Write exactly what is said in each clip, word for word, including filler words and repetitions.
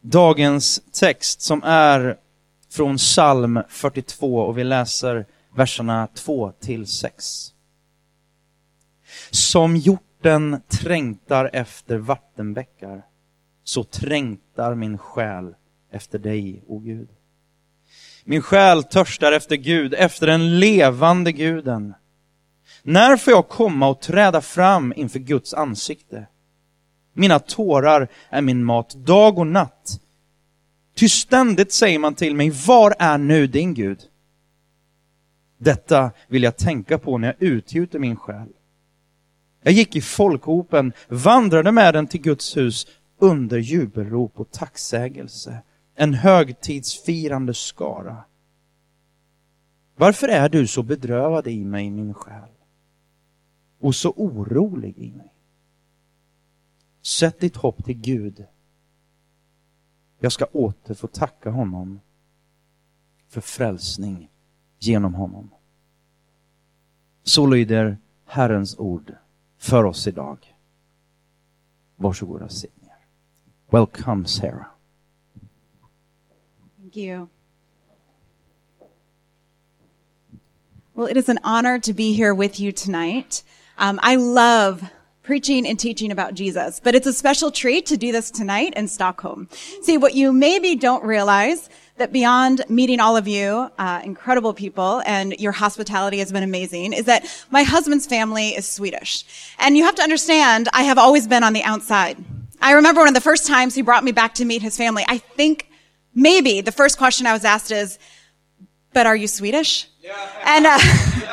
Dagens text som är från psalm fyrtiotvå och vi läser verserna två till sex. Som hjorten trängtar efter vattenbäckar, så trängtar min själ efter dig, o Gud. Min själ törstar efter Gud, efter den levande Guden. När får jag komma och träda fram inför Guds ansikte? Mina tårar är min mat dag och natt. Ty ständigt säger man till mig, var är nu din Gud? Detta vill jag tänka på när jag utgjuter min själ. Jag gick i folkhopen, vandrade med den till Guds hus under jubelrop och tacksägelse. En högtidsfirande skara. Varför är du så bedrövad i mig, min själ? Och så orolig i mig? Sätt ditt hopp till Gud. Jag ska åter få tacka honom för frälsning genom honom. Så lyder Herrens ord för oss idag. Varsågoda, sitt ner. Welcome, Sarah. Thank you. Well, it is an honor to be here with you tonight. Um, I love preaching and teaching about Jesus, but it's a special treat to do this tonight in Stockholm. See, what you maybe don't realize, that beyond meeting all of you, uh, incredible people, and your hospitality has been amazing, is that my husband's family is Swedish. And you have to understand, I have always been on the outside. I remember one of the first times he brought me back to meet his family, I think maybe the first question I was asked is, but are you Swedish? Yeah. And, uh,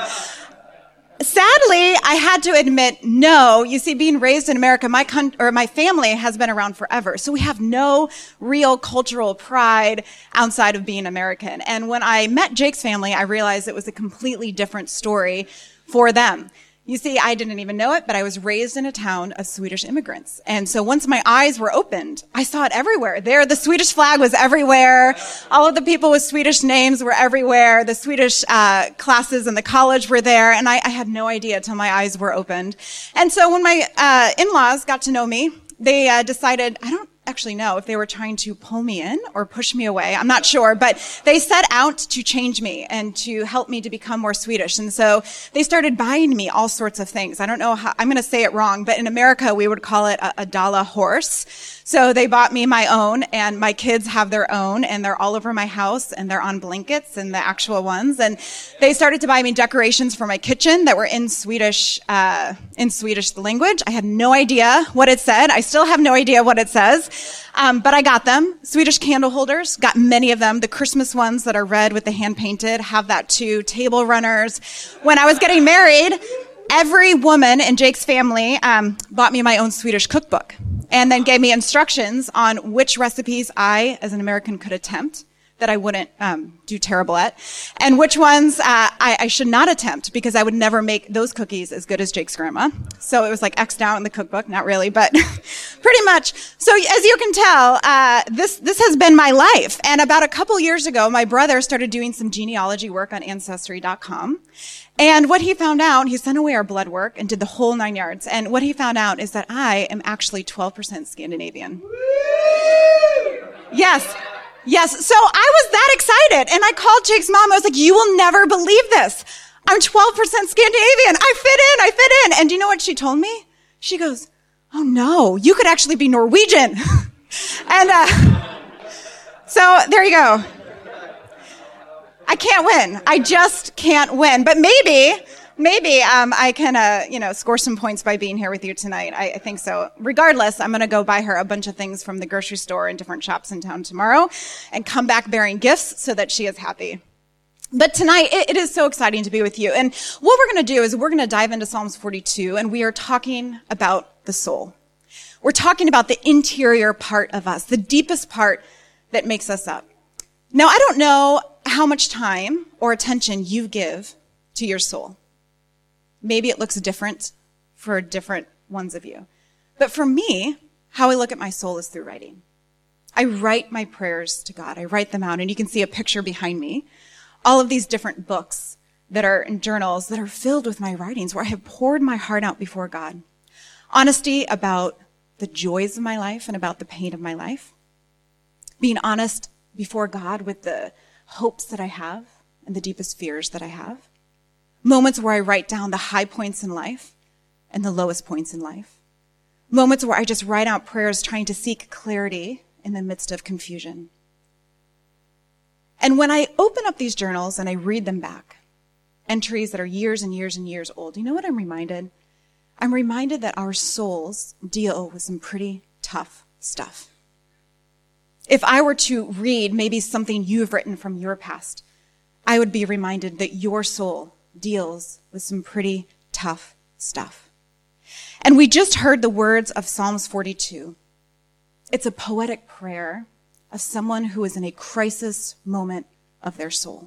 sadly, I had to admit, no. You see, being raised in America, my con- or my family has been around forever. So we have no real cultural pride outside of being American. And when I met Jake's family, I realized it was a completely different story for them. You see, I didn't even know it, but I was raised in a town of Swedish immigrants. And so once my eyes were opened, I saw it everywhere. There, the Swedish flag was everywhere. All of the people with Swedish names were everywhere. The Swedish uh classes in the college were there. And I, I had no idea till my eyes were opened. And so when my uh in-laws got to know me, they uh, decided, I don't actually know if they were trying to pull me in or push me away. I'm not sure, but they set out to change me and to help me to become more Swedish. And so they started buying me all sorts of things. I don't know how, I'm going to say it wrong, but in America, we would call it a, a Dala horse. So they bought me my own, and my kids have their own, and they're all over my house, and they're on blankets and the actual ones. And they started to buy me decorations for my kitchen that were in Swedish, uh, in Swedish language. I had no idea what it said. I still have no idea what it says. Um, but I got them. Swedish candle holders, got many of them. The Christmas ones that are red with the hand painted, have that too. Table runners. When I was getting married, every woman in Jake's family um, bought me my own Swedish cookbook and then gave me instructions on which recipes I, as an American, could attempt that I wouldn't um, do terrible at, and which ones uh, I, I should not attempt because I would never make those cookies as good as Jake's grandma. So it was like X'd out in the cookbook, not really, but pretty much. So as you can tell, uh, this this has been my life. And about a couple years ago, my brother started doing some genealogy work on Ancestry dot com. And what he found out, he sent away our blood work and did the whole nine yards. And what he found out is that I am actually twelve percent Scandinavian. Yes. Yes. So I was that excited. And I called Jake's mom. I was like, you will never believe this. I'm twelve percent Scandinavian. I fit in. I fit in. And do you know what she told me? She goes, oh no, you could actually be Norwegian. and, uh, so there you go. I can't win. I just can't win. But maybe, maybe um, I can, uh, you know, score some points by being here with you tonight. I, I think so. Regardless, I'm going to go buy her a bunch of things from the grocery store and different shops in town tomorrow and come back bearing gifts so that she is happy. But tonight, it, it is so exciting to be with you. And what we're going to do is we're going to dive into Psalms forty-two, and we are talking about the soul. We're talking about the interior part of us, the deepest part that makes us up. Now, I don't know how much time or attention you give to your soul. Maybe it looks different for different ones of you. But for me, how I look at my soul is through writing. I write my prayers to God. I write them out, and you can see a picture behind me. All of these different books that are in journals that are filled with my writings where I have poured my heart out before God. Honesty about the joys of my life and about the pain of my life. being honest before God with the hopes that I have and the deepest fears that I have. Moments where I write down the high points in life and the lowest points in life. Moments where I just write out prayers trying to seek clarity in the midst of confusion. And when I open up these journals and I read them back, entries that are years and years and years old, you know what I'm reminded? I'm reminded that our souls deal with some pretty tough stuff. If I were to read maybe something you've written from your past, I would be reminded that your soul deals with some pretty tough stuff. And we just heard the words of Psalms forty-two. It's a poetic prayer of someone who is in a crisis moment of their soul.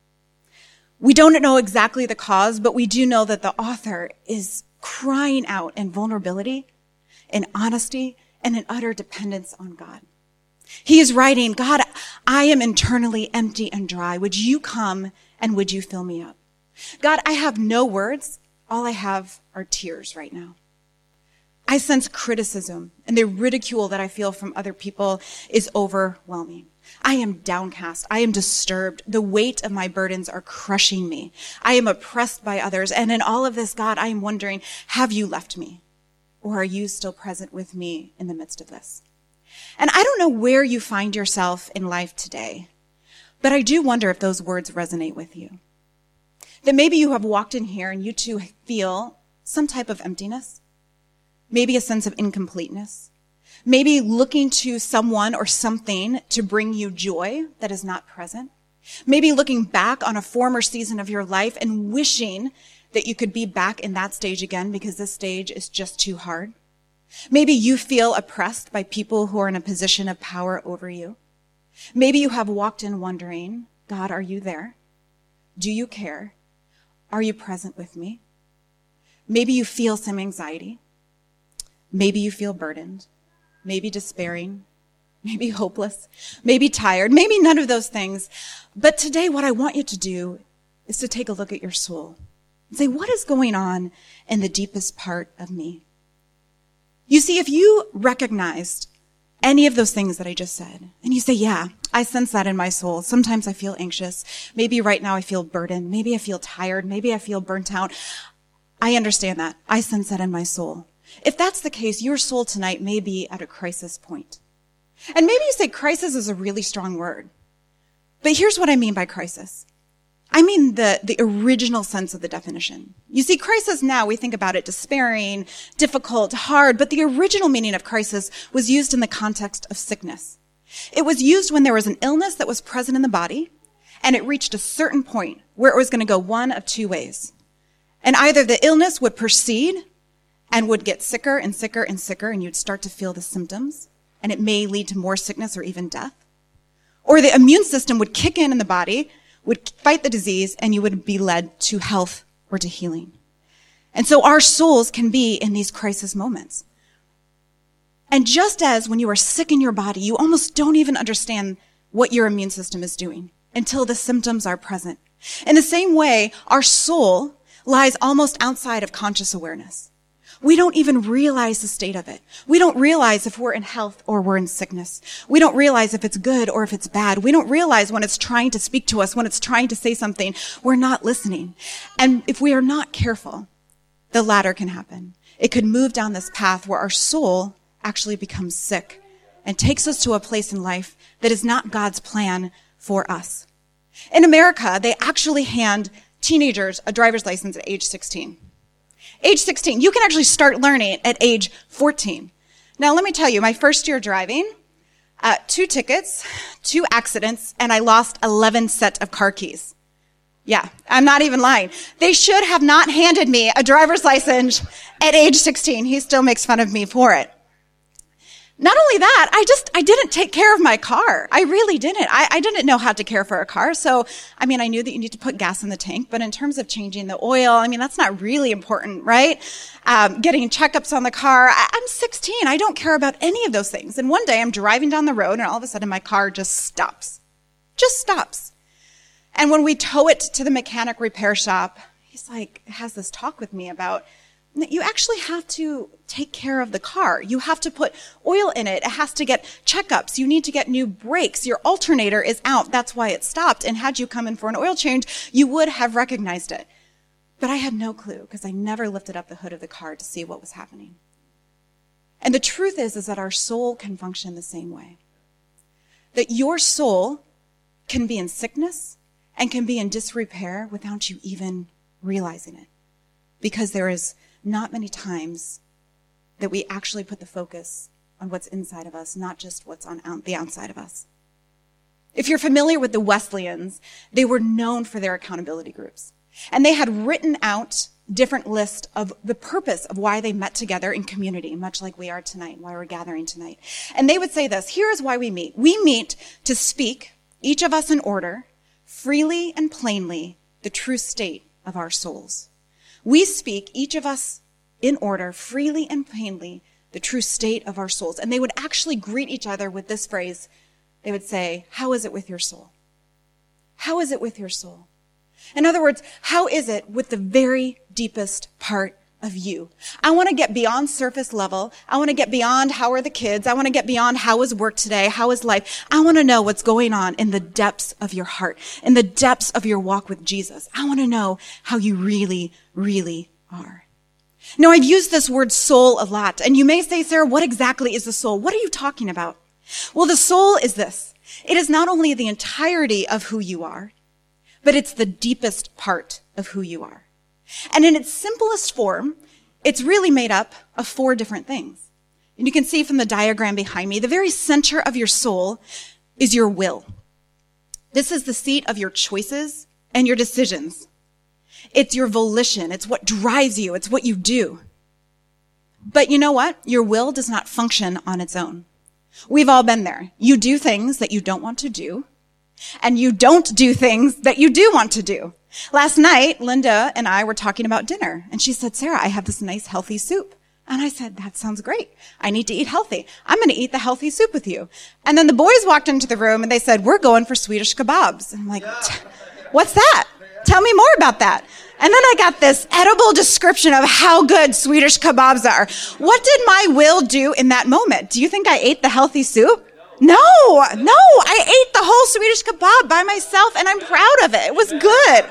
We don't know exactly the cause, but we do know that the author is crying out in vulnerability, in honesty, and in utter dependence on God. He is writing, God, I am internally empty and dry. Would you come and would you fill me up? God, I have no words. All I have are tears right now. I sense criticism, and the ridicule that I feel from other people is overwhelming. I am downcast. I am disturbed. The weight of my burdens are crushing me. I am oppressed by others. And in all of this, God, I am wondering, have you left me? Or are you still present with me in the midst of this? And I don't know where you find yourself in life today, but I do wonder if those words resonate with you. That maybe you have walked in here and you too feel some type of emptiness, maybe a sense of incompleteness, maybe looking to someone or something to bring you joy that is not present, maybe looking back on a former season of your life and wishing that you could be back in that stage again because this stage is just too hard. Maybe you feel oppressed by people who are in a position of power over you. Maybe you have walked in wondering, God, are you there? Do you care? Are you present with me? Maybe you feel some anxiety. Maybe you feel burdened, maybe despairing, maybe hopeless, maybe tired, maybe none of those things. But today what I want you to do is to take a look at your soul and say, what is going on in the deepest part of me? You see, if you recognized any of those things that I just said, and you say, yeah, I sense that in my soul. Sometimes I feel anxious. Maybe right now I feel burdened. Maybe I feel tired. Maybe I feel burnt out. I understand that. I sense that in my soul. If that's the case, your soul tonight may be at a crisis point. And maybe you say crisis is a really strong word. But here's what I mean by crisis. I mean the, the original sense of the definition. You see, crisis now, we think about it despairing, difficult, hard, but the original meaning of crisis was used in the context of sickness. It was used when there was an illness that was present in the body, and it reached a certain point where it was going to go one of two ways. And either the illness would proceed and would get sicker and sicker and sicker, and you'd start to feel the symptoms, and it may lead to more sickness or even death. Or the immune system would kick in in the body, would fight the disease, and you would be led to health or to healing. And so our souls can be in these crisis moments. And just as when you are sick in your body, you almost don't even understand what your immune system is doing until the symptoms are present. In the same way, our soul lies almost outside of conscious awareness. We don't even realize the state of it. We don't realize if we're in health or we're in sickness. We don't realize if it's good or if it's bad. We don't realize when it's trying to speak to us, when it's trying to say something. We're not listening. And if we are not careful, the latter can happen. It could move down this path where our soul actually becomes sick and takes us to a place in life that is not God's plan for us. In America, they actually hand teenagers a driver's license at age sixteen. Age sixteen. You can actually start learning at age fourteen. Now, let me tell you, my first year driving, uh, two tickets, two accidents, and I lost eleven set of car keys. Yeah, I'm not even lying. They should have not handed me a driver's license at age sixteen. He still makes fun of me for it. Not only that, I just, I didn't take care of my car. I really didn't. I, I didn't know how to care for a car. So, I mean, I knew that you need to put gas in the tank, but in terms of changing the oil, I mean, that's not really important, right? Um, getting checkups on the car. I, I'm sixteen. I don't care about any of those things. And one day I'm driving down the road and all of a sudden my car just stops. Just stops. And when we tow it to the mechanic repair shop, he's like, has this talk with me about, you actually have to take care of the car. You have to put oil in it. It has to get checkups. You need to get new brakes. Your alternator is out. That's why it stopped. And had you come in for an oil change, you would have recognized it. But I had no clue because I never lifted up the hood of the car to see what was happening. And the truth is, is that our soul can function the same way. That your soul can be in sickness and can be in disrepair without you even realizing it. Because there is not many times that we actually put the focus on what's inside of us, not just what's on out, the outside of us. If you're familiar with the Wesleyans, they were known for their accountability groups. And they had written out different lists of the purpose of why they met together in community, much like we are tonight, why we're gathering tonight. And they would say this, here is why we meet. We meet to speak, each of us in order, freely and plainly, the true state of our souls. We speak, each of us in order, freely and plainly, the true state of our souls. And they would actually greet each other with this phrase. They would say, how is it with your soul? How is it with your soul? In other words, how is it with the very deepest part of you? I want to get beyond surface level. I want to get beyond how are the kids. I want to get beyond how is work today? How is life? I want to know what's going on in the depths of your heart, in the depths of your walk with Jesus. I want to know how you really, really are. Now, I've used this word soul a lot, and you may say, Sarah, what exactly is the soul? What are you talking about? Well, the soul is this. It is not only the entirety of who you are, but it's the deepest part of who you are. And in its simplest form, it's really made up of four different things. And you can see from the diagram behind me, the very center of your soul is your will. This is the seat of your choices and your decisions. It's your volition. It's what drives you. It's what you do. But you know what? Your will does not function on its own. We've all been there. You do things that you don't want to do, and you don't do things that you do want to do. Last night, Linda and I were talking about dinner, and she said, Sarah, I have this nice healthy soup. And I said, that sounds great. I need to eat healthy. I'm going to eat the healthy soup with you. And then the boys walked into the room, and they said, we're going for Swedish kebabs. And I'm like, what's that? Tell me more about that. And then I got this edible description of how good Swedish kebabs are. What did my will do in that moment? Do you think I ate the healthy soup? No, no, I ate the whole Swedish kebab by myself, and I'm proud of it. It was good.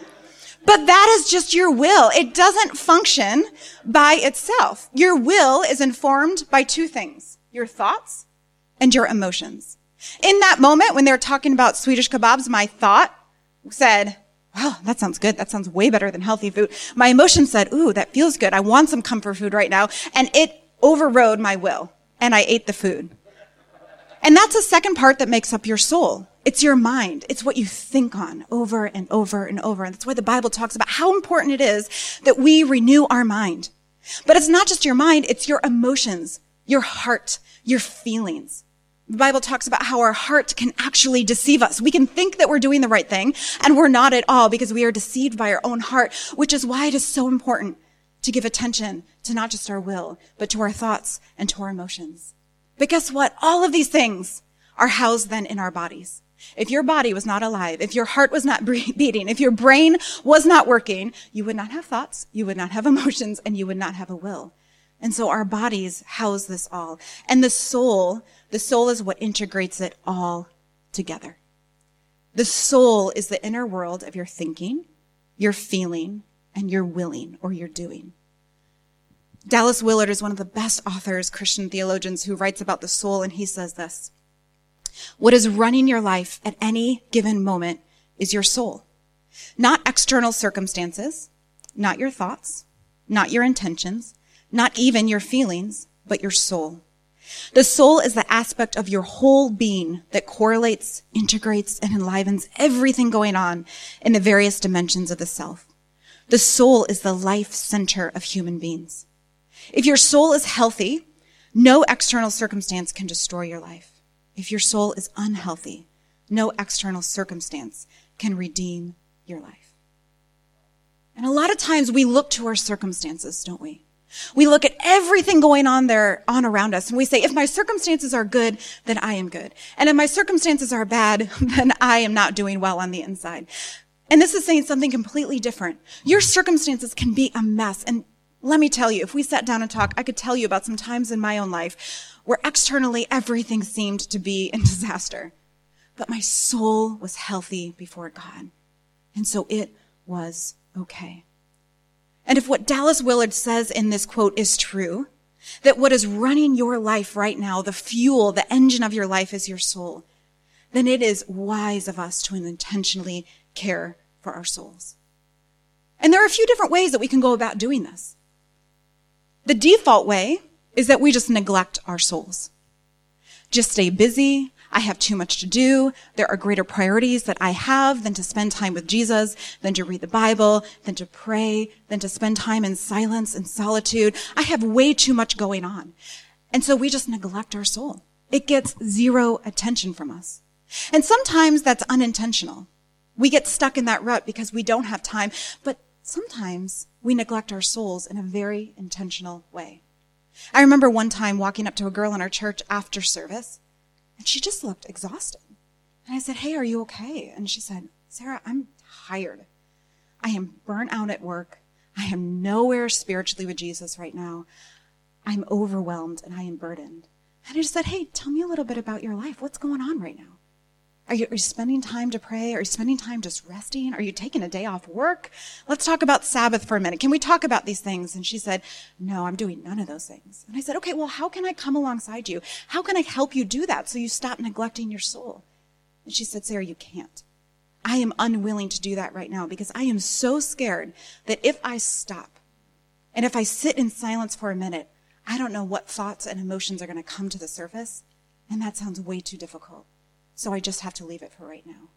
But that is just your will. It doesn't function by itself. Your will is informed by two things, your thoughts and your emotions. In that moment, when they were talking about Swedish kebabs, my thought said, wow, that sounds good. That sounds way better than healthy food. My emotion said, ooh, that feels good. I want some comfort food right now. And it overrode my will, and I ate the food. And that's the second part that makes up your soul. It's your mind. It's what you think on over and over and over. And that's why the Bible talks about how important it is that we renew our mind. But it's not just your mind, it's your emotions, your heart, your feelings. The Bible talks about how our heart can actually deceive us. We can think that we're doing the right thing, and we're not at all because we are deceived by our own heart, which is why it is so important to give attention to not just our will, but to our thoughts and to our emotions. But guess what? All of these things are housed then in our bodies. If your body was not alive, if your heart was not beating, if your brain was not working, you would not have thoughts, you would not have emotions, and you would not have a will. And so our bodies house this all. And the soul, the soul is what integrates it all together. The soul is the inner world of your thinking, your feeling, and your willing or your doing. Dallas Willard is one of the best authors, Christian theologians, who writes about the soul, and he says this: what is running your life at any given moment is your soul. Not external circumstances, not your thoughts, not your intentions, not even your feelings, but your soul. The soul is the aspect of your whole being that correlates, integrates, and enlivens everything going on in the various dimensions of the self. The soul is the life center of human beings. If your soul is healthy, no external circumstance can destroy your life. If your soul is unhealthy, no external circumstance can redeem your life. And a lot of times we look to our circumstances, don't we? We look at everything going on there, on around us, and we say, if my circumstances are good, then I am good. And if my circumstances are bad, then I am not doing well on the inside. And this is saying something completely different. Your circumstances can be a mess, and Let me tell you, if we sat down and talked, I could tell you about some times in my own life where externally everything seemed to be in disaster. But my soul was healthy before God. And so it was okay. And if what Dallas Willard says in this quote is true, that what is running your life right now, the fuel, the engine of your life is your soul, then it is wise of us to intentionally care for our souls. And there are a few different ways that we can go about doing this. The default way is that we just neglect our souls. Just stay busy. I have too much to do. There are greater priorities that I have than to spend time with Jesus, than to read the Bible, than to pray, than to spend time in silence and solitude. I have way too much going on. And so we just neglect our soul. It gets zero attention from us. And sometimes that's unintentional. We get stuck in that rut because we don't have time. But sometimes we neglect our souls in a very intentional way. I remember one time walking up to a girl in our church after service, and she just looked exhausted. And I said, "Hey, are you okay?" And she said, "Sarah, I'm tired. I am burnt out at work. I am nowhere spiritually with Jesus right now. I'm overwhelmed and I am burdened." And I just said, "Hey, tell me a little bit about your life. What's going on right now? Are you, are you spending time to pray? Are you spending time just resting? Are you taking a day off work? Let's talk about Sabbath for a minute. Can we talk about these things?" And she said, "No, I'm doing none of those things." And I said, "Okay, well, how can I come alongside you? How can I help you do that so you stop neglecting your soul?" And she said, "Sarah, you can't. I am unwilling to do that right now because I am so scared that if I stop and if I sit in silence for a minute, I don't know what thoughts and emotions are going to come to the surface. And that sounds way too difficult. So I just have to leave it for right now."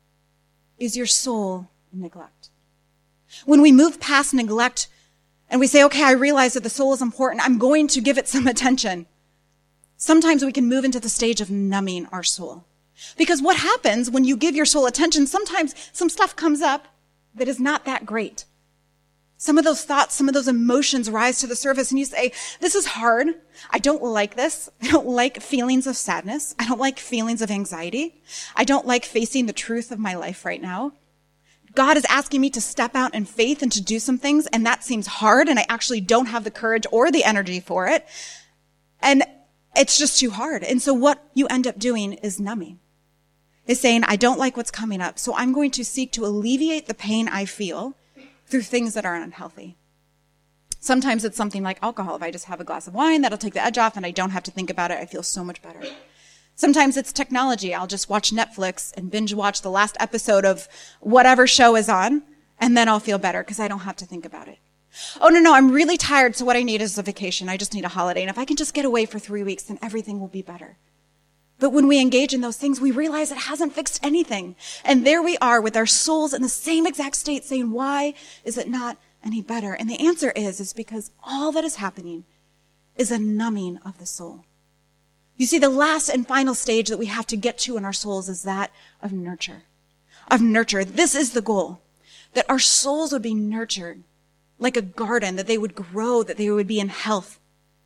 Is your soul in neglect? When we move past neglect and we say, "Okay, I realize that the soul is important. I'm going to give it some attention," sometimes we can move into the stage of numbing our soul. Because what happens when you give your soul attention, sometimes some stuff comes up that is not that great. Some of those thoughts, some of those emotions rise to the surface and you say, "This is hard. I don't like this. I don't like feelings of sadness. I don't like feelings of anxiety. I don't like facing the truth of my life right now. God is asking me to step out in faith and to do some things, and that seems hard, and I actually don't have the courage or the energy for it. And it's just too hard." And so what you end up doing is numbing. Is saying, "I don't like what's coming up, so I'm going to seek to alleviate the pain I feel through things that are unhealthy." Sometimes it's something like alcohol. If I just have a glass of wine, that'll take the edge off and I don't have to think about it. I feel so much better. Sometimes it's technology. I'll just watch Netflix and binge watch the last episode of whatever show is on, and then I'll feel better because I don't have to think about it. "Oh, no, no, I'm really tired, so what I need is a vacation. I just need a holiday. And if I can just get away for three weeks, then everything will be better." But when we engage in those things, we realize it hasn't fixed anything. And there we are with our souls in the same exact state saying, "Why is it not any better?" And the answer is, is because all that is happening is a numbing of the soul. You see, the last and final stage that we have to get to in our souls is that of nurture. Of nurture. This is the goal, that our souls would be nurtured like a garden, that they would grow, that they would be in health.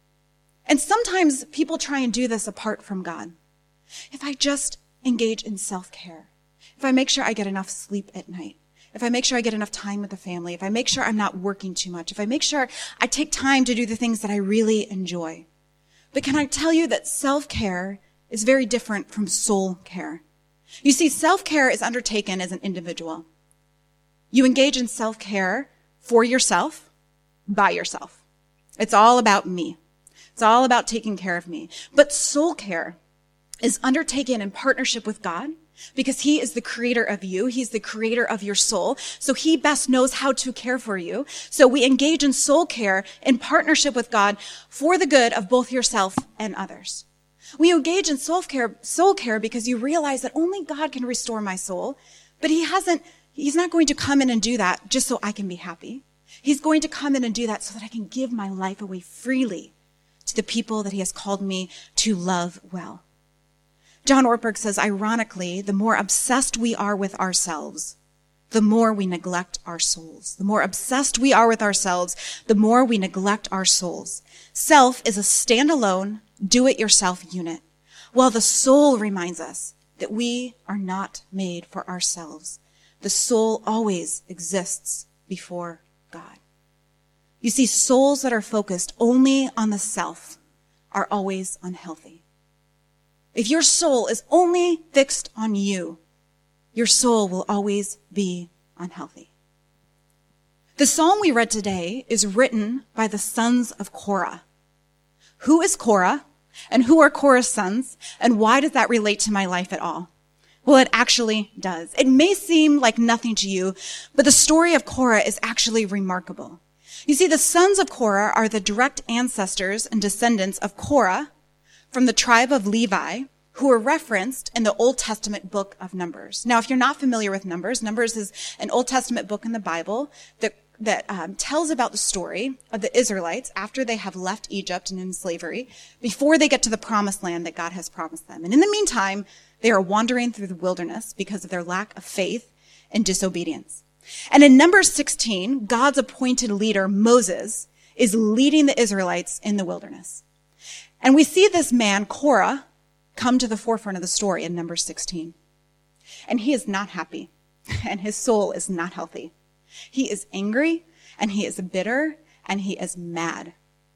And sometimes people try and do this apart from God. If I just engage in self-care, if I make sure I get enough sleep at night, if I make sure I get enough time with the family, if I make sure I'm not working too much, if I make sure I take time to do the things that I really enjoy. But can I tell you that self-care is very different from soul care? You see, self-care is undertaken as an individual. You engage in self-care for yourself, by yourself. It's all about me. It's all about taking care of me. But soul care is undertaken in partnership with God because he is the creator of you. He's the creator of your soul. So he best knows how to care for you. So we engage in soul care in partnership with God for the good of both yourself and others. We engage in soul care, soul care because you realize that only God can restore my soul, but he hasn't, he's not going to come in and do that just so I can be happy. He's going to come in and do that so that I can give my life away freely to the people that he has called me to love well. John Ortberg says, ironically, the more obsessed we are with ourselves, the more we neglect our souls. The more obsessed we are with ourselves, the more we neglect our souls. Self is a standalone, do-it-yourself unit, while the soul reminds us that we are not made for ourselves. The soul always exists before God. You You see, souls that are focused only on the self are always unhealthy. If your soul is only fixed on you, your soul will always be unhealthy. The psalm we read today is written by the sons of Korah. Who is Korah? And who are Korah's sons? And why does that relate to my life at all? Well, it actually does. It may seem like nothing to you, but the story of Korah is actually remarkable. You see, the sons of Korah are the direct ancestors and descendants of Korah from the tribe of Levi, who are referenced in the Old Testament book of Numbers. Now, if you're not familiar with Numbers, Numbers is an Old Testament book in the Bible that that um, tells about the story of the Israelites after they have left Egypt and in slavery, before they get to the promised land that God has promised them. And in the meantime, they are wandering through the wilderness because of their lack of faith and disobedience. And in Numbers sixteen, God's appointed leader, Moses, is leading the Israelites in the wilderness. And we see this man, Korah, come to the forefront of the story in Numbers sixteen. And he is not happy, and his soul is not healthy. He is angry, and he is bitter, and he is mad.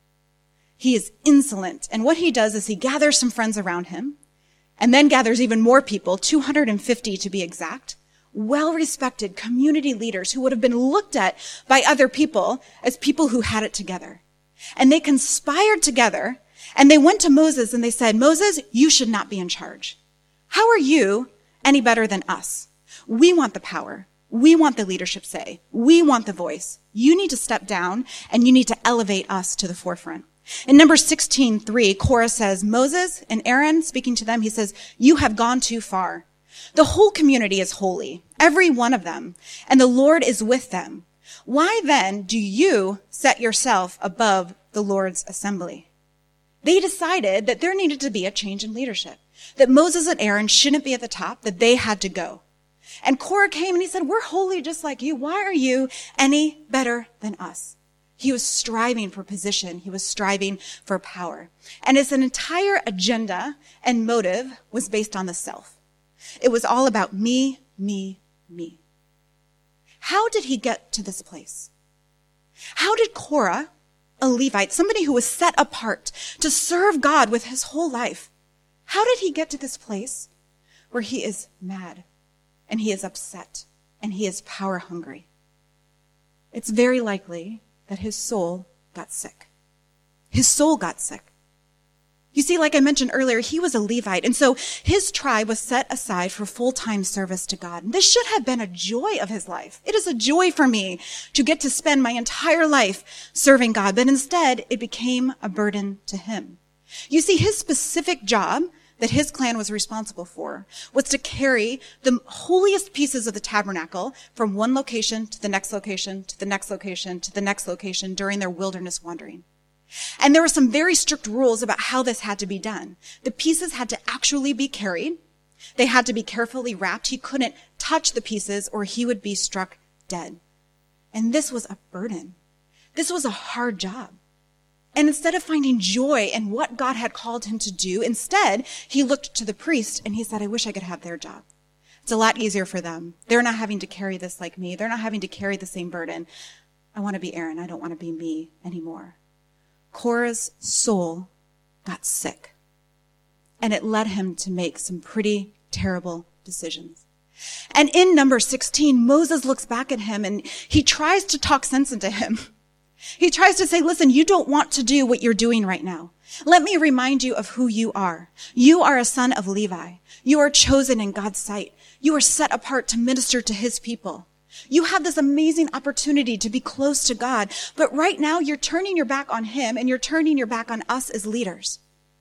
He is insolent, and what he does is he gathers some friends around him, and then gathers even more people, two hundred fifty to be exact, well-respected community leaders who would have been looked at by other people as people who had it together. And they conspired together, and they went to Moses and they said, Moses, you should not be in charge. How are you any better than us? We want the power. We want the leadership say. We want the voice. You need to step down and you need to elevate us to the forefront. In Numbers sixteen three, Korah says, Moses and Aaron, speaking to them, he says, you have gone too far. The whole community is holy, every one of them, and the Lord is with them. Why then do you set yourself above the Lord's assembly? They decided that there needed to be a change in leadership, that Moses and Aaron shouldn't be at the top, that they had to go. And Korah came and he said, we're holy just like you. Why are you any better than us? He was striving for position. He was striving for power. And his entire agenda and motive was based on the self. It was all about me, me, me. How did he get to this place? How did Korah, a Levite, somebody who was set apart to serve God with his whole life, how did he get to this place where he is mad and he is upset and he is power hungry? It's very likely that his soul got sick. His soul got sick. You see, like I mentioned earlier, he was a Levite, and so his tribe was set aside for full-time service to God. And this should have been a joy of his life. It is a joy for me to get to spend my entire life serving God, but instead it became a burden to him. You see, his specific job that his clan was responsible for was to carry the holiest pieces of the tabernacle from one location to the next location, to the next location, to the next location during their wilderness wandering. And there were some very strict rules about how this had to be done. The pieces had to actually be carried. They had to be carefully wrapped. He couldn't touch the pieces or he would be struck dead. And this was a burden. This was a hard job. And instead of finding joy in what God had called him to do, instead, he looked to the priest and he said, I wish I could have their job. It's a lot easier for them. They're not having to carry this like me. They're not having to carry the same burden. I want to be Aaron. I don't want to be me anymore. Korah's soul got sick, and it led him to make some pretty terrible decisions. And in Numbers sixteen, Moses looks back at him and he tries to talk sense into him. He tries to say, listen, you don't want to do what you're doing right now. Let me remind you of who you are. You are a son of Levi. You are chosen in God's sight. You are set apart to minister to his people. You have this amazing opportunity to be close to God, but right now you're turning your back on him and you're turning your back on us as leaders.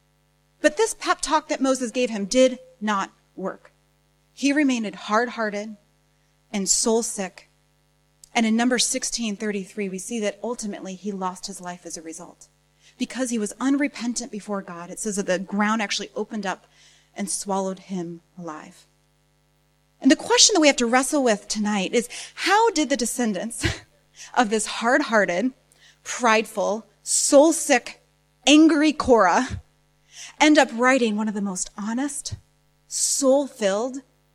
But this pep talk that Moses gave him did not work. He remained hard-hearted and soul sick. And in Numbers sixteen thirty-three, we see that ultimately he lost his life as a result. Because he was unrepentant before God, it says that the ground actually opened up and swallowed him alive. And the question that we have to wrestle with tonight is, how did the descendants of this hard-hearted, prideful, soul-sick, angry Korah end up writing one of the most honest, soul-filled,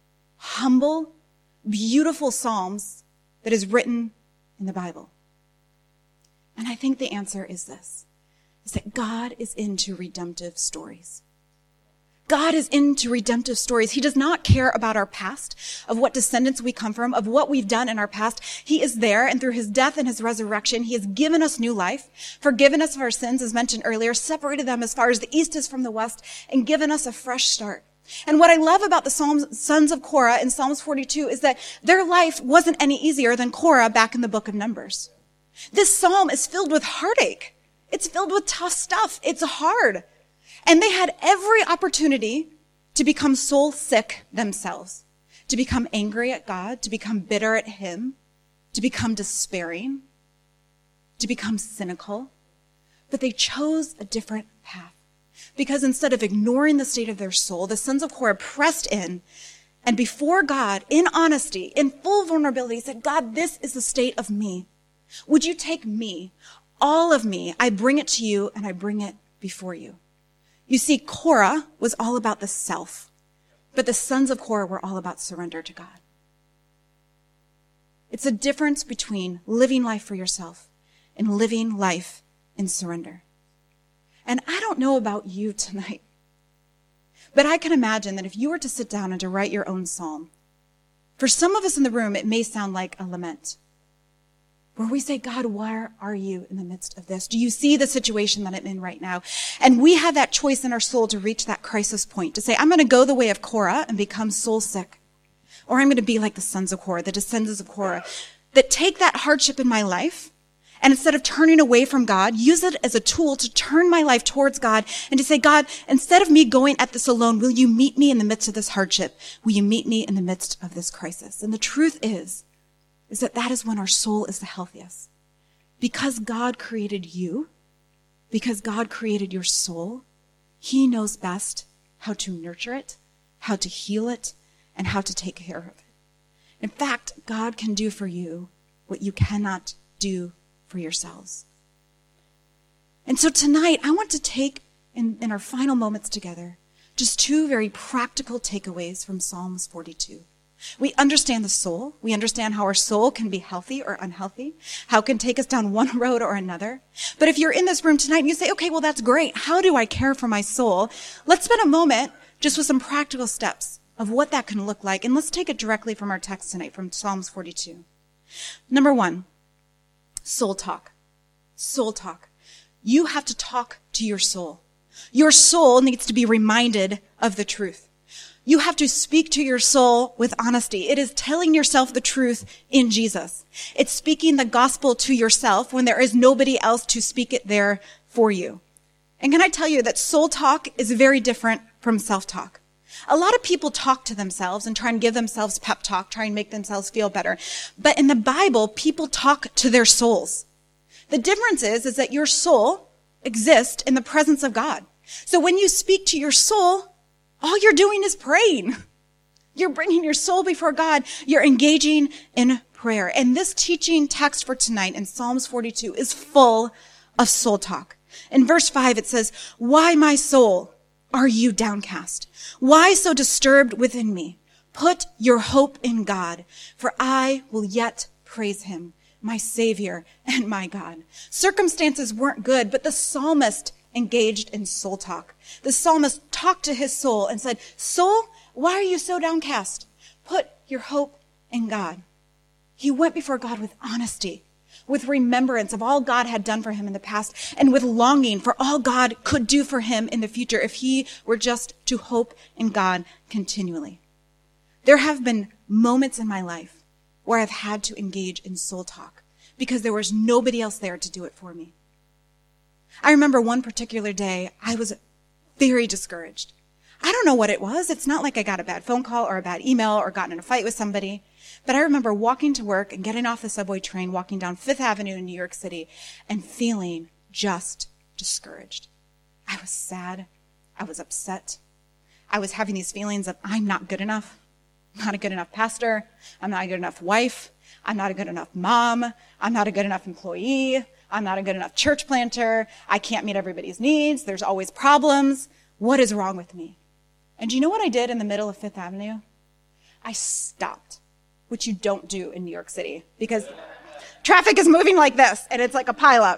humble, beautiful psalms that is written in the Bible? And I think the answer is this, is that God is into redemptive stories. God is into redemptive stories. He does not care about our past, of what descendants we come from, of what we've done in our past. He is there, and through his death and his resurrection, he has given us new life, forgiven us of our sins, as mentioned earlier, separated them as far as the east is from the west, and given us a fresh start. And what I love about the Psalms, sons of Korah in Psalms forty-two is that their life wasn't any easier than Korah back in the book of Numbers. This psalm is filled with heartache. It's filled with tough stuff. It's hard. And they had every opportunity to become soul sick themselves, to become angry at God, to become bitter at him, to become despairing, to become cynical. But they chose a different path. Because instead of ignoring the state of their soul, the sons of Korah pressed in and before God, in honesty, in full vulnerability, said, God, this is the state of me. Would you take me, all of me? I bring it to you and I bring it before you. You see, Korah was all about the self, but the sons of Korah were all about surrender to God. It's a difference between living life for yourself and living life in surrender. And I don't know about you tonight, but I can imagine that if you were to sit down and to write your own psalm, for some of us in the room, it may sound like a lament, where we say, God, where are you in the midst of this? Do you see the situation that I'm in right now? And we have that choice in our soul to reach that crisis point, to say, I'm going to go the way of Korah and become soul sick. Or I'm going to be like the sons of Korah, the descendants of Korah, that take that hardship in my life, and instead of turning away from God, use it as a tool to turn my life towards God and to say, God, instead of me going at this alone, will you meet me in the midst of this hardship? Will you meet me in the midst of this crisis? And the truth is, is that that is when our soul is the healthiest. Because God created you, because God created your soul, he knows best how to nurture it, how to heal it, and how to take care of it. In fact, God can do for you what you cannot do for yourselves. And so tonight, I want to take, in, in our final moments together, just two very practical takeaways from Psalms forty-two. We understand the soul. We understand how our soul can be healthy or unhealthy, how it can take us down one road or another. But if you're in this room tonight and you say, okay, well, that's great. How do I care for my soul? Let's spend a moment just with some practical steps of what that can look like. And let's take it directly from our text tonight, from Psalms forty-two. Number one, soul talk. Soul talk. You have to talk to your soul. Your soul needs to be reminded of the truth. You have to speak to your soul with honesty. It is telling yourself the truth in Jesus. It's speaking the gospel to yourself when there is nobody else to speak it there for you. And can I tell you that soul talk is very different from self-talk? A lot of people talk to themselves and try and give themselves pep talk, try and make themselves feel better. But in the Bible, people talk to their souls. The difference is, is that your soul exists in the presence of God. So when you speak to your soul, all you're doing is praying. You're bringing your soul before God. You're engaging in prayer. And this teaching text for tonight in Psalms forty-two is full of soul talk. In verse five, it says, "Why, my soul, are you downcast? Why so disturbed within me? Put your hope in God, for I will yet praise him, my Savior and my God." Circumstances weren't good, but the psalmist engaged in soul talk. The psalmist talked to his soul and said, "Soul, why are you so downcast? Put your hope in God." He went before God with honesty, with remembrance of all God had done for him in the past, and with longing for all God could do for him in the future if he were just to hope in God continually. There have been moments in my life where I've had to engage in soul talk because there was nobody else there to do it for me. I remember one particular day, I was very discouraged. I don't know what it was. It's not like I got a bad phone call or a bad email or gotten in a fight with somebody. But I remember walking to work and getting off the subway train, walking down Fifth Avenue in New York City, and feeling just discouraged. I was sad. I was upset. I was having these feelings of, I'm not good enough. I'm not a good enough pastor. I'm not a good enough wife. I'm not a good enough mom. I'm not a good enough employee. I'm not a good enough church planter. I can't meet everybody's needs. There's always problems. What is wrong with me? And do you know what I did in the middle of Fifth Avenue? I stopped, which you don't do in New York City because traffic is moving like this and it's like a pileup.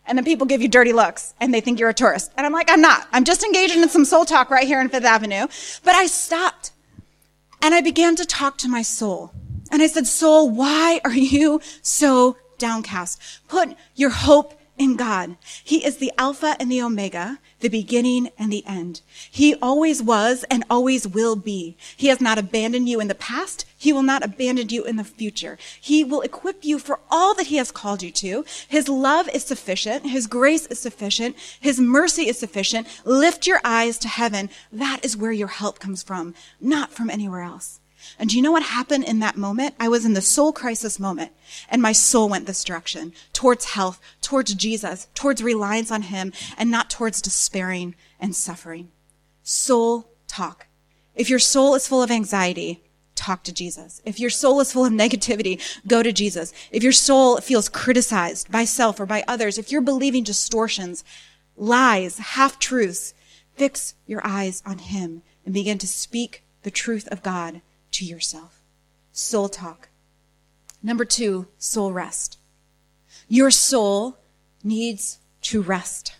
And then people give you dirty looks and they think you're a tourist. And I'm like, I'm not. I'm just engaging in some soul talk right here in Fifth Avenue. But I stopped and I began to talk to my soul. And I said, soul, why are you so downcast? Put your hope in God. He is the Alpha and the Omega, the beginning and the end. He always was and always will be. He has not abandoned you in the past. He will not abandon you in the future. He will equip you for all that he has called you to. His love is sufficient. His grace is sufficient. His mercy is sufficient. Lift your eyes to heaven. That is where your help comes from, not from anywhere else. And do you know what happened in that moment? I was in the soul crisis moment, and my soul went this direction, towards health, towards Jesus, towards reliance on him, and not towards despairing and suffering. Soul talk. If your soul is full of anxiety, talk to Jesus. If your soul is full of negativity, go to Jesus. If your soul feels criticized by self or by others, if you're believing distortions, lies, half-truths, fix your eyes on him and begin to speak the truth of God to yourself. Soul talk. Number two, soul rest. Your soul needs to rest.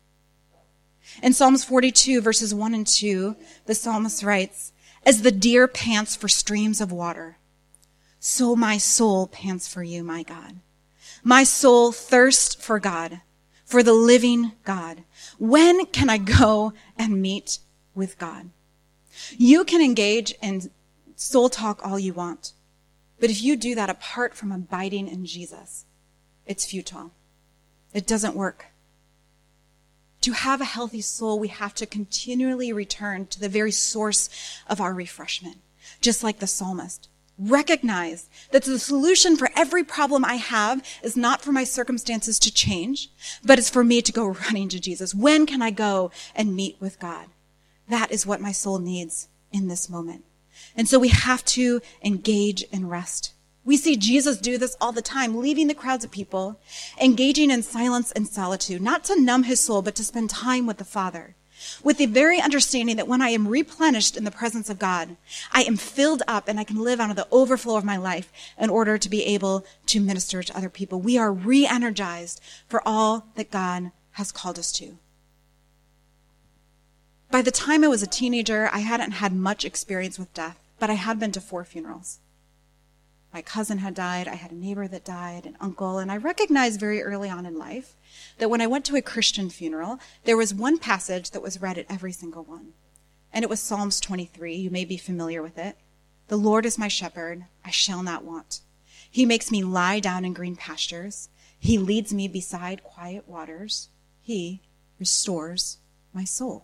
In Psalms forty-two, verses one and two, the psalmist writes, as the deer pants for streams of water, so my soul pants for you, my God. My soul thirsts for God, for the living God. When can I go and meet with God? You can engage in soul talk all you want. But if you do that apart from abiding in Jesus, it's futile. It doesn't work. To have a healthy soul, we have to continually return to the very source of our refreshment. Just like the psalmist. Recognize that the solution for every problem I have is not for my circumstances to change, but it's for me to go running to Jesus. When can I go and meet with God? That is what my soul needs in this moment. And so we have to engage in rest. We see Jesus do this all the time, leaving the crowds of people, engaging in silence and solitude, not to numb his soul, but to spend time with the Father, with the very understanding that when I am replenished in the presence of God, I am filled up and I can live out of the overflow of my life in order to be able to minister to other people. We are re-energized for all that God has called us to. By the time I was a teenager, I hadn't had much experience with death, but I had been to four funerals. My cousin had died, I had a neighbor that died, an uncle, and I recognized very early on in life that when I went to a Christian funeral, there was one passage that was read at every single one. And it was Psalms twenty-three. You may be familiar with it. The Lord is my shepherd, I shall not want. He makes me lie down in green pastures. He leads me beside quiet waters. He restores my soul.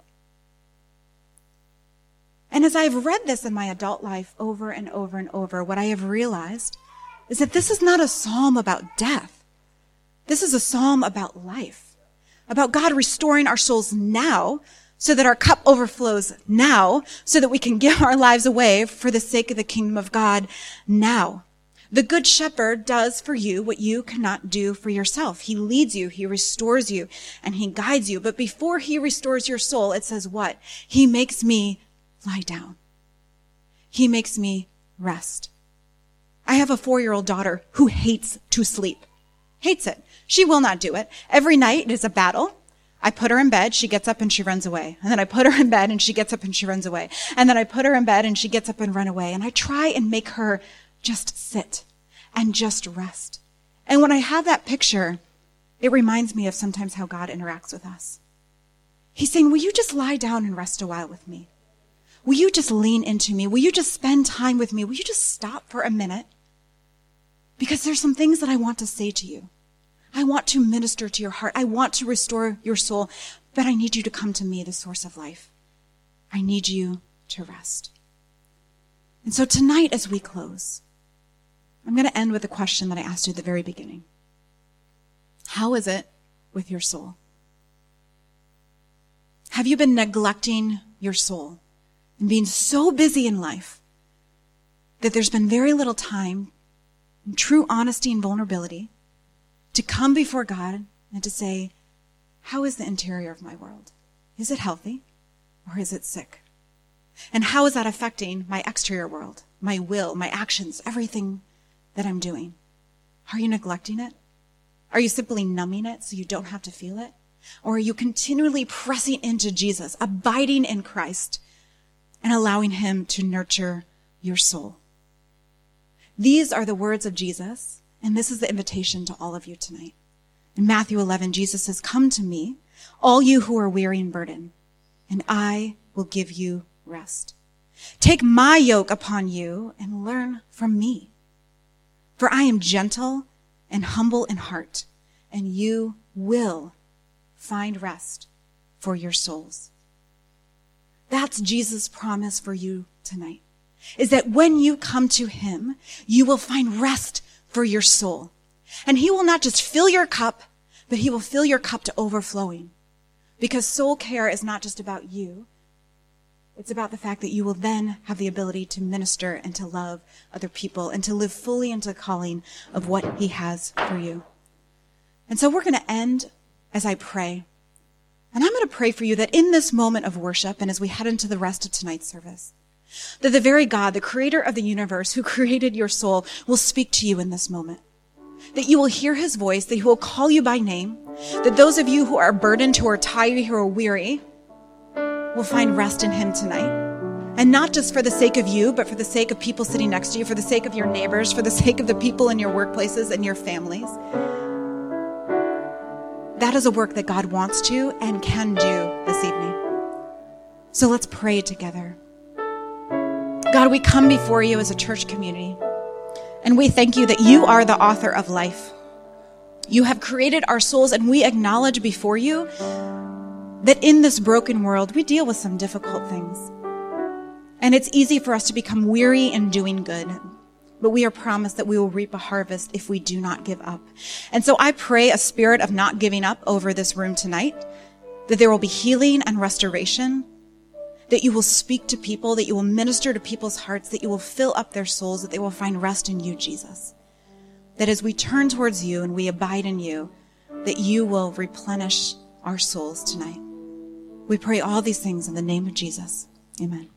And as I've read this in my adult life over and over and over, what I have realized is that this is not a psalm about death. This is a psalm about life, about God restoring our souls now so that our cup overflows now, so that we can give our lives away for the sake of the kingdom of God now. The Good Shepherd does for you what you cannot do for yourself. He leads you, he restores you, and he guides you. But before he restores your soul, it says what? He makes me lie down. He makes me rest. I have a four-year-old daughter who hates to sleep. Hates it. She will not do it. Every night it is a battle. I put her in bed, she gets up and she runs away. And then I put her in bed and she gets up and she runs away. And then I put her in bed and she gets up and run away. And I try and make her just sit and just rest. And when I have that picture, it reminds me of sometimes how God interacts with us. He's saying, will you just lie down and rest a while with me? Will you just lean into me? Will you just spend time with me? Will you just stop for a minute? Because there's some things that I want to say to you. I want to minister to your heart. I want to restore your soul, but I need you to come to me, the source of life. I need you to rest. And so tonight as we close, I'm going to end with a question that I asked you at the very beginning. How is it with your soul? Have you been neglecting your soul? And being so busy in life that there's been very little time, in true honesty and vulnerability, to come before God and to say, how is the interior of my world? Is it healthy or is it sick? And how is that affecting my exterior world, my will, my actions, everything that I'm doing? Are you neglecting it? Are you simply numbing it so you don't have to feel it? Or are you continually pressing into Jesus, abiding in Christ, and allowing him to nurture your soul? These are the words of Jesus, and this is the invitation to all of you tonight. In Matthew eleven, Jesus says, "Come to me, all you who are weary and burdened, and I will give you rest. Take my yoke upon you and learn from me. For I am gentle and humble in heart, and you will find rest for your souls." That's Jesus' promise for you tonight, is that when you come to him, you will find rest for your soul. And he will not just fill your cup, but he will fill your cup to overflowing. Because soul care is not just about you. It's about the fact that you will then have the ability to minister and to love other people and to live fully into the calling of what he has for you. And so we're going to end as I pray. And I'm going to pray for you that in this moment of worship and as we head into the rest of tonight's service, that the very God, the creator of the universe, who created your soul, will speak to you in this moment. That you will hear his voice, that he will call you by name, that those of you who are burdened, who are tired, who are weary, will find rest in him tonight. And not just for the sake of you, but for the sake of people sitting next to you, for the sake of your neighbors, for the sake of the people in your workplaces and your families. That is a work that God wants to and can do this evening. So let's pray together. God, we come before you as a church community, and we thank you that you are the author of life. You have created our souls, and we acknowledge before you that in this broken world, we deal with some difficult things. And it's easy for us to become weary in doing good. But we are promised that we will reap a harvest if we do not give up. And so I pray a spirit of not giving up over this room tonight, that there will be healing and restoration, that you will speak to people, that you will minister to people's hearts, that you will fill up their souls, that they will find rest in you, Jesus. That as we turn towards you and we abide in you, that you will replenish our souls tonight. We pray all these things in the name of Jesus. Amen.